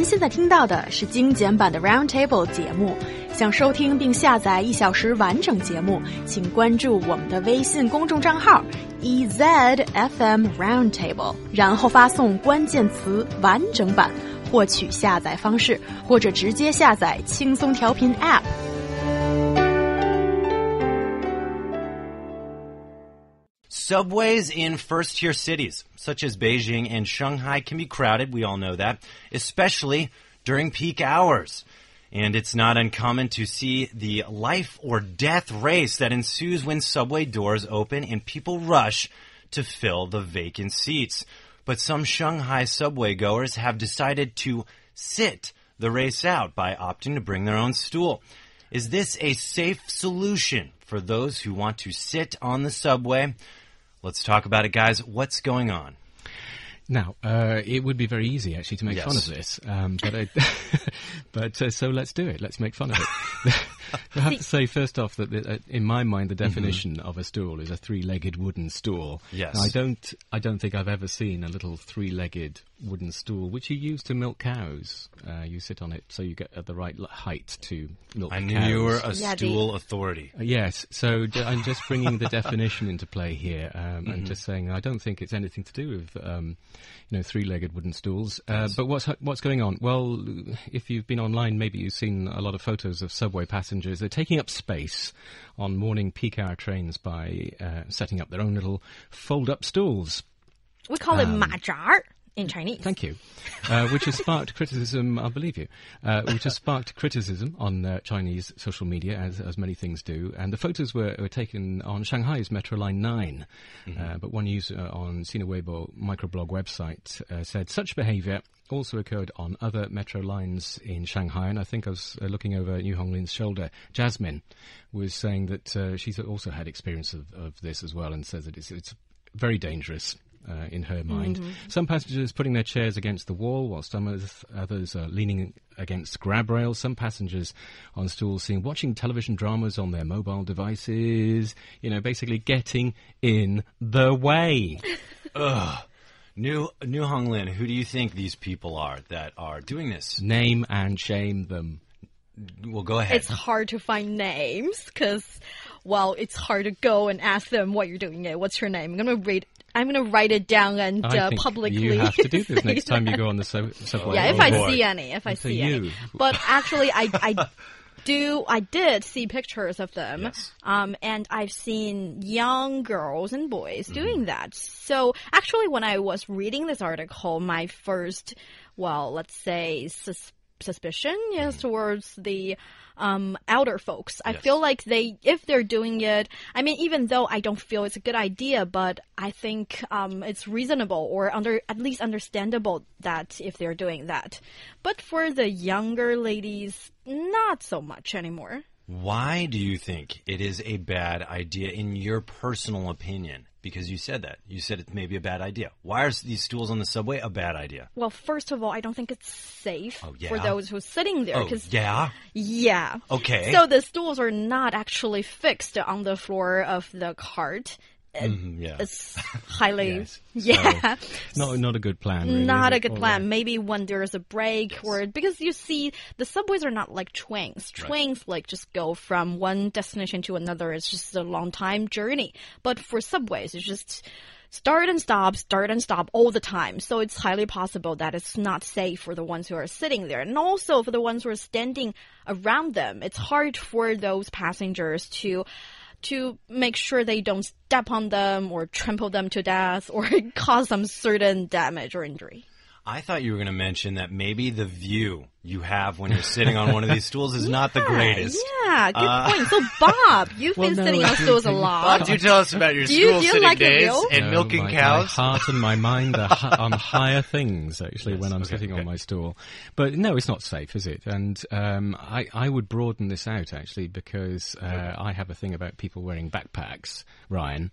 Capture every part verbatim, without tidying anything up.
现在听到的是精简版的 Roundtable 节目。想收听并下载一小时完整节目，请关注我们的微信公众账号 E Z F M Roundtable， 然后发送关键词完整版获取下载方式，或者直接下载轻松调频 App。 Subways in first-tier cities, such as Beijing and Shanghai, can be crowded, we all know that, especially during peak hours. And it's not uncommon to see the life-or-death race that ensues when subway doors open and people rush to fill the vacant seats. But some Shanghai subway goers have decided to sit the race out by opting to bring their own stool. Is this a safe solution for those who want to sit on the subway? Let's talk about it, guys. What's going on? Now, uh, it would be very easy, actually, to make yes. fun of this. Um, but I, but uh, so let's do it. Let's make fun of it. I have to say, first off, that the, uh, in my mind, the definition mm-hmm. of a stool is a three-legged wooden stool. Yes. Now, I don't, I don't think I've ever seen a little three-legged wooden stool, which you use to milk cows. Uh, you sit on it so you get at the right height to milk I cows. knew you were a yeah, stool the... authority. Uh, yes, so d- I'm just bringing the definition into play here, um, mm-hmm. and just saying I don't think it's anything to do with, um, you know, three-legged wooden stools. Uh, yes. But what's what's going on? Well, if you've been online, maybe you've seen a lot of photos of subway passengers. They're taking up space on morning peak hour trains by uh, setting up their own little fold-up stools. We call um, it 马扎 in Chinese. Thank you. Uh, which has sparked criticism, I believe you, uh, which has sparked criticism on uh, Chinese social media, as as many things do. And the photos were, were taken on Shanghai's Metro Line nine. Mm-hmm. Uh, but one user on Sina Weibo microblog website uh, said such behaviour also occurred on other metro lines in Shanghai. And I think I was uh, looking over New Honglin's shoulder. Jasmine was saying that uh, she's also had experience of, of this as well, and says that it's, it's very dangerous. Uh, in her mind. Mm-hmm. Some passengers putting their chairs against the wall, while some others, others are leaning against grab rails. Some passengers on stools seen watching television dramas on their mobile devices, you know, basically getting in the way. Ugh. New, New Honglin, who do you think these people are that are doing this? Name and shame them. Well, go ahead. It's hard to find names because, well, it's hard to go and ask them what you're doing. What's your name? I'm going to read I'm going to write it down and uh, publicly. You have to do this next time you go on the sub- subway. Yeah, if oh, I boy. see any, if I and see you. any. But actually, I, I do, I did see pictures of them. Yes. Um, and I've seen young girls and boys mm-hmm. doing that. So actually, when I was reading this article, my first, well, let's say, sus- suspicion is mm-hmm. towards the um elder folks. I yes. feel like they, if they're doing it, I mean, even though I don't feel it's a good idea, but I think um it's reasonable or under at least understandable that if they're doing that. But for the younger ladies, not so much anymore. Why do you think it is a bad idea in your personal opinion? Because you said that. You said it may be a bad idea. Why are these stools on the subway a bad idea? Well, first of all, I don't think it's safe oh, yeah? for those who are sitting there. Oh, yeah? Yeah. Okay. So the stools are not actually fixed on the floor of the cart. Mm-hmm, yeah. It's highly, yes. yeah. So, not, not a good plan, really. Not a good plan. Right. Maybe when there's a break yes. or, because you see, the subways are not like trains. Trains right. like just go from one destination to another. It's just a long time journey. But for subways, it's just start and stop, start and stop all the time. So it's highly possible that it's not safe for the ones who are sitting there. And also for the ones who are standing around them. It's hard for those passengers to to make sure they don't step on them or trample them to death or cause some certain damage or injury. I thought you were going to mention that maybe the view you have when you're sitting on one of these stools is yeah, not the greatest. Yeah, good uh, point. So, Bob, you've well, been no, sitting on stools a lot. Bob, do tell us about your do you, stool do you sitting like days it, and no, milking my, cows? My heart and my mind are hi- on higher things, actually, yes, when I'm okay, sitting okay. on my stool. But no, it's not safe, is it? And um, I, I would broaden this out, actually, because uh, okay. I have a thing about people wearing backpacks, Ryan,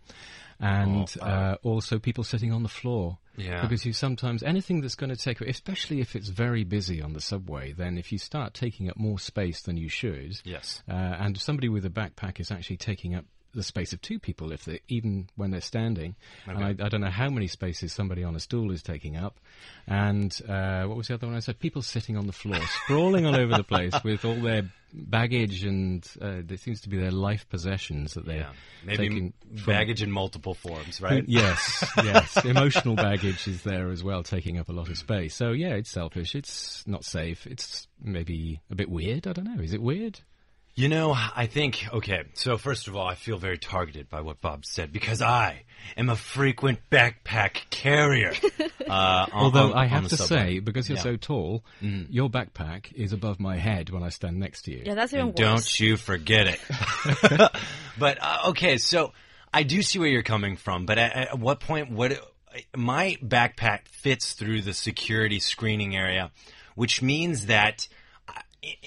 and oh, wow. uh, also people sitting on the floor. Yeah. Because you sometimes, anything that's going to take, especially if it's very busy on the subway, then if you start taking up more space than you should, yes. uh, and somebody with a backpack is actually taking up the space of two people, if they, even when they're standing. Okay. And I, I don't know how many spaces somebody on a stool is taking up. And uh, what was the other one I said? People sitting on the floor, sprawling all over the place with all their baggage and uh, there seems to be their life possessions that they're Yeah. Maybe taking m- from- baggage in multiple forms, right? Yes, yes. Emotional baggage is there as well, taking up a lot of space. So, yeah, it's selfish. It's not safe. It's maybe a bit weird. I don't know. Is it weird? You know, I think, okay, so first of all, I feel very targeted by what Bob said because I am a frequent backpack carrier. Uh, on, Although on, I on have the to subway. say, because you're Yeah. so tall, Mm. your backpack is above my head when I stand next to you. Yeah, that's even And worse. don't you forget it. But, uh, okay, so I do see where you're coming from, but at, at what point would my backpack fits through the security screening area, which means that I,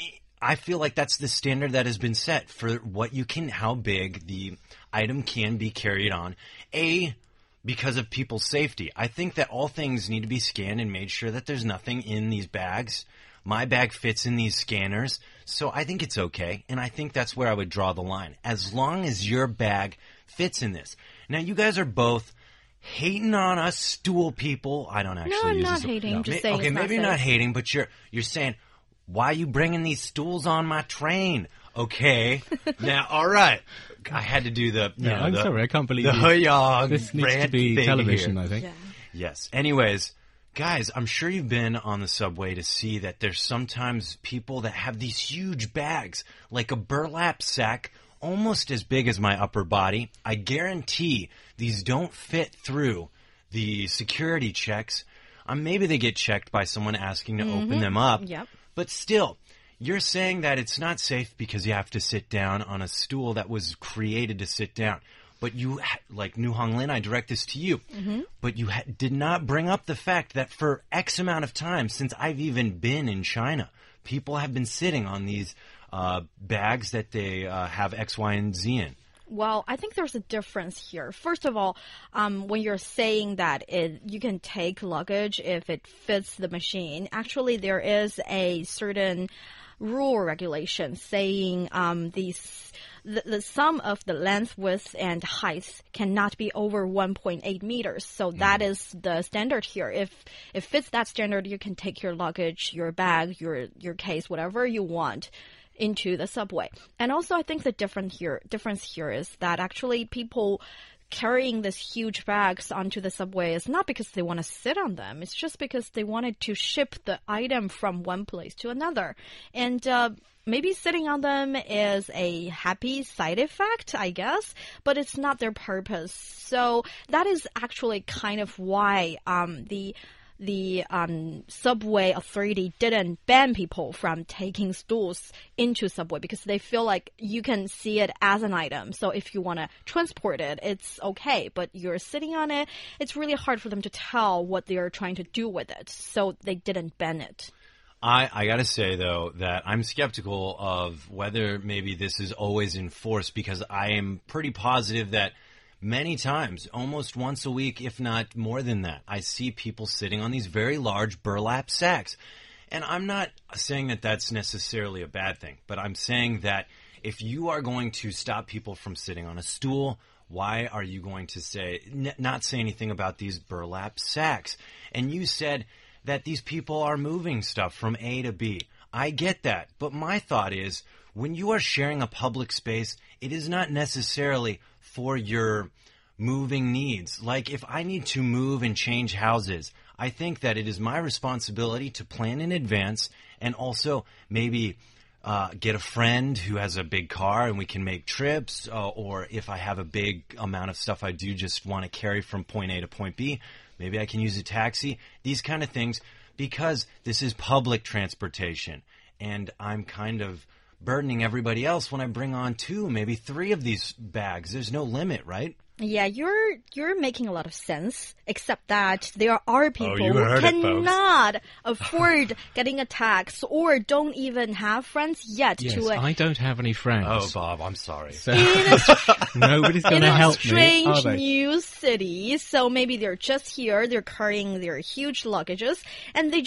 I feel like that's the standard that has been set for what you can, how big the item can be carried on. A, because of people's safety. I think that all things need to be scanned and made sure that there's nothing in these bags. My bag fits in these scanners, so I think it's okay, and I think that's where I would draw the line. As long as your bag fits in this. Now, you guys are both hating on us stool people. I don't actually I'm use not this. hating, No. just Ma- saying Okay, it's not maybe you're not safe. hating, but you're you're saying, why are you bringing these stools on my train? Okay, now, all right. I had to do the, you No, know, I'm the, sorry, I can't believe the you. Huyong This needs to rant be thing television, here. I think. Yeah. Yes. Anyways, guys, I'm sure you've been on the subway to see that there's sometimes people that have these huge bags, like a burlap sack, almost as big as my upper body. I guarantee these don't fit through the security checks. Um, maybe they get checked by someone asking to open them up. Yep. But still, you're saying that it's not safe because you have to sit down on a stool that was created to sit down. But you, ha- like New Hong Lin, I direct this to you. Mm-hmm. But you ha- did not bring up the fact that for X amount of time, since I've even been in China, people have been sitting on these uh, bags that they uh, have X, Y, and Z in. Well, I think there's a difference here. First of all, um, when you're saying that it, you can take luggage if it fits the machine, actually there is a certain rule or regulation saying um, these, the, the sum of the length, width, and height cannot be over one point eight meters. So that is the standard here. If it fits that standard, you can take your luggage, your bag, your your case, whatever you want, into the subway. And also, I think the different here difference here is that actually people carrying these huge bags onto the subway is not because they want to sit on them. It's just because they wanted to ship the item from one place to another. And uh, maybe sitting on them is a happy side effect, I guess, but it's not their purpose. So that is actually kind of why um, the the um, subway authority didn't ban people from taking stools into subway because they feel like you can see it as an item. So if you want to transport it, it's okay. But you're sitting on it, it's really hard for them to tell what they're trying to do with it. So they didn't ban it. I, I gotta say, though, that I'm skeptical of whether maybe this is always enforced because I am pretty positive that many times, almost once a week, if not more than that, I see people sitting on these very large burlap sacks. And I'm not saying that that's necessarily a bad thing, but I'm saying that if you are going to stop people from sitting on a stool, why are you going to say, n- not say anything about these burlap sacks? And you said that these people are moving stuff from A to B. I get that, but my thought is, when you are sharing a public space, it is not necessarily for your moving needs. Like if I need to move and change houses, I think that it is my responsibility to plan in advance and also maybe uh, get a friend who has a big car and we can make trips. Uh, or if I have a big amount of stuff I do just want to carry from point A to point B, maybe I can use a taxi. These kind of things, because this is public transportation and I'm kind of burdening everybody else when I bring on two, maybe three of these bags. There's no limit, right? Yeah, you're you're making a lot of sense, except that there are people you who heard it, folks. cannot afford getting a tax or don't even have friends yet Yes, to a, I don't have any friends. Oh, Bob, I'm sorry. So in a, nobody's going in to a help me, strange are they? new city. So maybe they're just here, they're carrying their huge luggages, and they just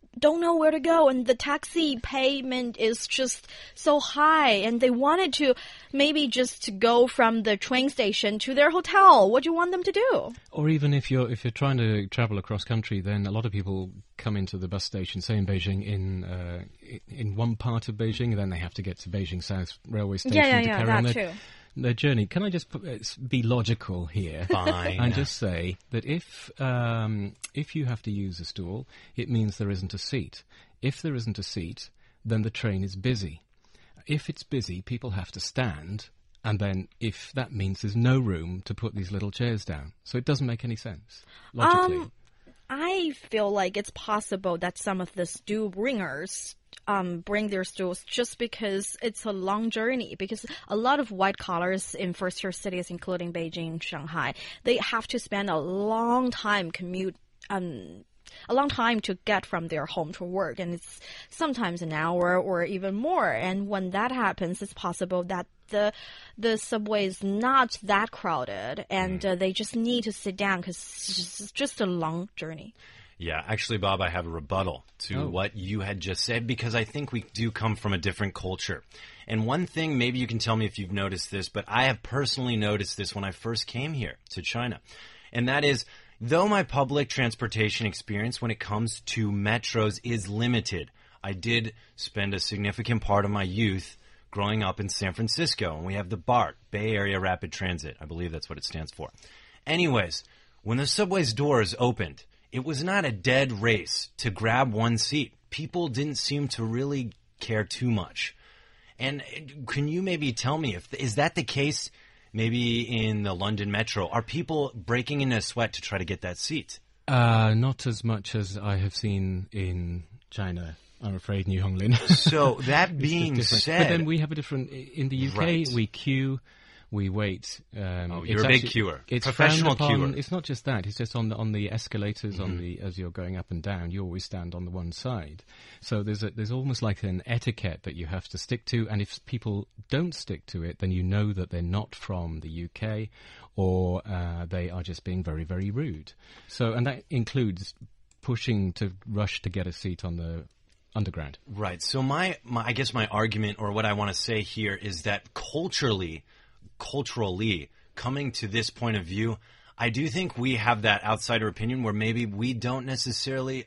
don't know where to go, and the taxi payment is just so high, and they wanted to maybe just go from the train station to their hotel. What do you want them to do? Or even if you're if you're trying to travel across country, then a lot of people come into the bus station, say in Beijing, in uh, in one part of Beijing, and then they have to get to Beijing South Railway Station yeah, yeah, to yeah, carry that on their, too. their journey. Can I just put, uh, be logical here? Fine. And just say that if um, if you have to use a stool, it means there isn't a seat. If there isn't a seat, then the train is busy. If it's busy, people have to stand, and then if that means there's no room to put these little chairs down. So it doesn't make any sense, logically. Um, I feel like it's possible that some of the stool bringers um, bring their stools just because it's a long journey. Because a lot of white collars in first-tier cities, including Beijing, Shanghai, they have to spend a long time commute, um, a long time to get from their home to work, and it's sometimes an hour or even more. And when that happens, it's possible that the the subway is not that crowded, and uh, they just need to sit down because it's just a long journey. Yeah, actually, Bob, I have a rebuttal to Oh. what you had just said, because I think we do come from a different culture. And one thing, maybe you can tell me if you've noticed this, but I have personally noticed this when I first came here to China. And that is, though my public transportation experience when it comes to metros is limited, I did spend a significant part of my youth growing up in San Francisco, and we have the BART, Bay Area Rapid Transit. I believe that's what it stands for. Anyways, when the subway's doors opened, it was not a dead race to grab one seat. People didn't seem to really care too much. And can you maybe tell me, if is that the case maybe in the London Metro? Are people breaking in a sweat to try to get that seat? Uh, not as much as I have seen in China, I'm afraid, New Honglin. So that It's being different. said... But then we have a different... In the U K, Right. we queue, we wait. Um, Oh, it's you're a big actually- queuer. It's Professional frowned upon. queuer. It's not just that. It's just on the, on the escalators, Mm-hmm. on the as you're going up and down, you always stand on the one side. So there's a, there's almost like an etiquette that you have to stick to, and if people don't stick to it, then you know that they're not from the U K, or uh, they are just being very, very rude. So, and that includes pushing to rush to get a seat on the underground. Right. So my, my I guess my argument, or what I want to say here, is that culturally, culturally, coming to this point of view, I do think we have that outsider opinion where maybe we don't necessarily...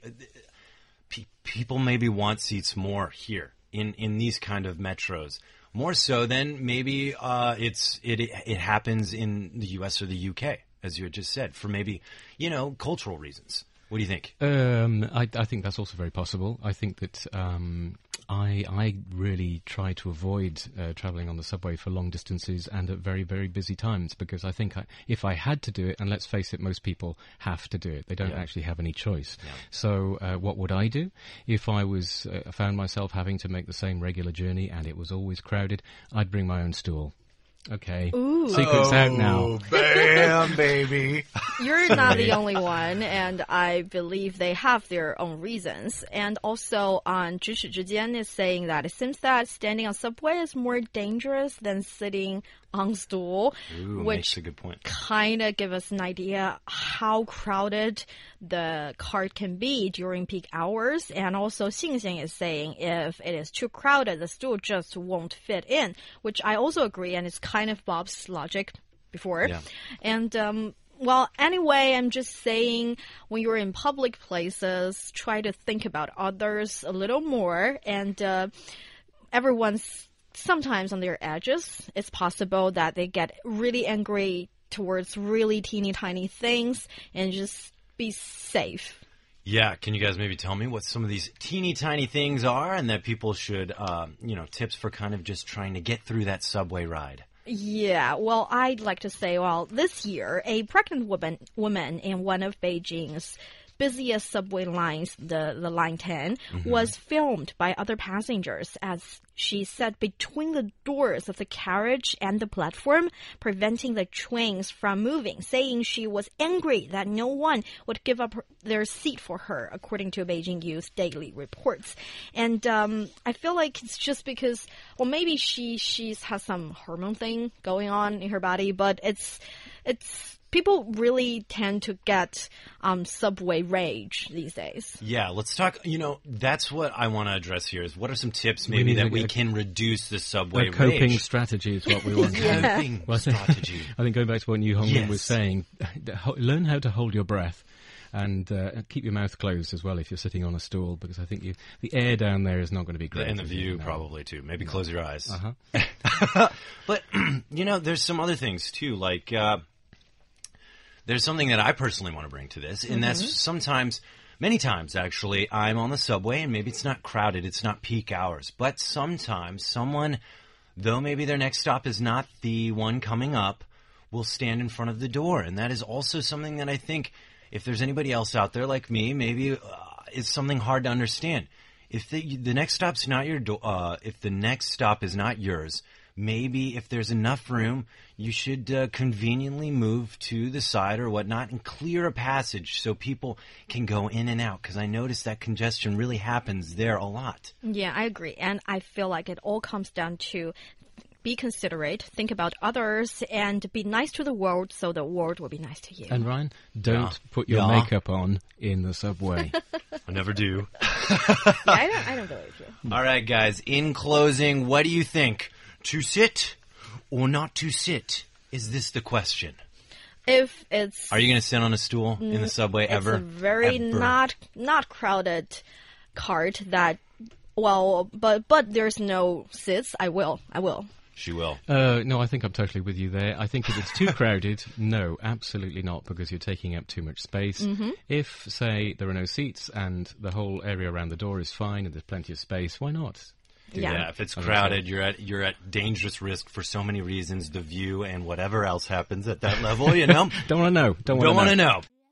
Pe- people maybe want seats more here in, in these kind of metros. More so than maybe uh, it's it it happens in the U S or the U K, as you had just said, for maybe, you know, cultural reasons. What do you think? Um, I, I think that's also very possible. I think that um, I I really try to avoid uh, travelling on the subway for long distances and at very, very busy times, because I think I, if I had to do it, and let's face it, most people have to do it. They don't Yeah. actually have any choice. Yeah. So uh, what would I do if I was uh, found myself having to make the same regular journey and it was always crowded? I'd bring my own stool. Okay. Ooh. Secret's out now. Bam, baby. You're not the only one, and I believe they have their own reasons. And also, on 咫尺之间 is saying that it seems that standing on subway is more dangerous than sitting on stool, Ooh, makes which a good point. kind of give us an idea how crowded the cart can be during peak hours. And also, Xingxiang is saying if it is too crowded, the stool just won't fit in, which I also agree, and it's kind of Bob's logic before. Yeah. And um, well, anyway, I'm just saying when you're in public places, try to think about others a little more. And uh, everyone's sometimes on their edges. It's possible that they get really angry towards really teeny tiny things, and just be safe. Yeah, can you guys maybe tell me what some of these teeny tiny things are, and that people should, um, you know, tips for kind of just trying to get through that subway ride? Yeah, well, I'd like to say, well, this year, a pregnant woman woman in one of Beijing's busiest subway lines, the, the Line ten, Mm-hmm. was filmed by other passengers as she sat between the doors of the carriage and the platform, preventing the trains from moving, saying she was angry that no one would give up her, their seat for her, according to Beijing Youth Daily reports. And um, I feel like it's just because, well, maybe she she's has some hormone thing going on in her body, but it's it's people really tend to get um, subway rage these days. Yeah, let's talk. You know, that's what I want to address here. Is what are some tips maybe that we can reduce the subway a coping rage? strategy is what we want. Yeah. Coping Well, strategy. I think going back to what Yu Hongmin Yes. was saying, ho- learn how to hold your breath. And uh, keep your mouth closed as well if you're sitting on a stool, because I think you, the air down there is not going to be great. And the is it? view No. probably too. Maybe close your eyes. Uh-huh. But you know, there's some other things too. Like uh, there's something that I personally want to bring to this, and that's sometimes, many times actually, I'm on the subway and maybe it's not crowded, it's not peak hours, but sometimes someone, though maybe their next stop is not the one coming up, will stand in front of the door, and that is also something that I think, if there's anybody else out there like me, maybe uh, it's something hard to understand. If the the next stop's not your do- uh, if the next stop is not yours, maybe if there's enough room, you should uh, conveniently move to the side or whatnot and clear a passage so people can go in and out. Because I notice that congestion really happens there a lot. Yeah, I agree. And I feel like it all comes down to be considerate, think about others, and be nice to the world so the world will be nice to you. And Ryan, don't Yeah. put your Yeah. makeup on in the subway. I never do. Yeah, I don't, I don't believe you. All right, guys. In closing, what do you think? To sit or not to sit? Is this the question? If it's Are you going to sit on a stool in the subway ever? it's a very Ever. not not crowded cart that well, but but there's no seats. I will, I will. She will. Uh, no, I think I'm totally with you there. I think if it's too crowded, no, absolutely not, because you're taking up too much space. Mm-hmm. If, say, there are no seats and the whole area around the door is fine and there's plenty of space, why not? Do Yeah. that. Yeah, if it's I think crowded, so. you're at you're at dangerous risk for so many reasons. The view and whatever else happens at that level, you know. Don't want to know. Don't want Don't to want to know.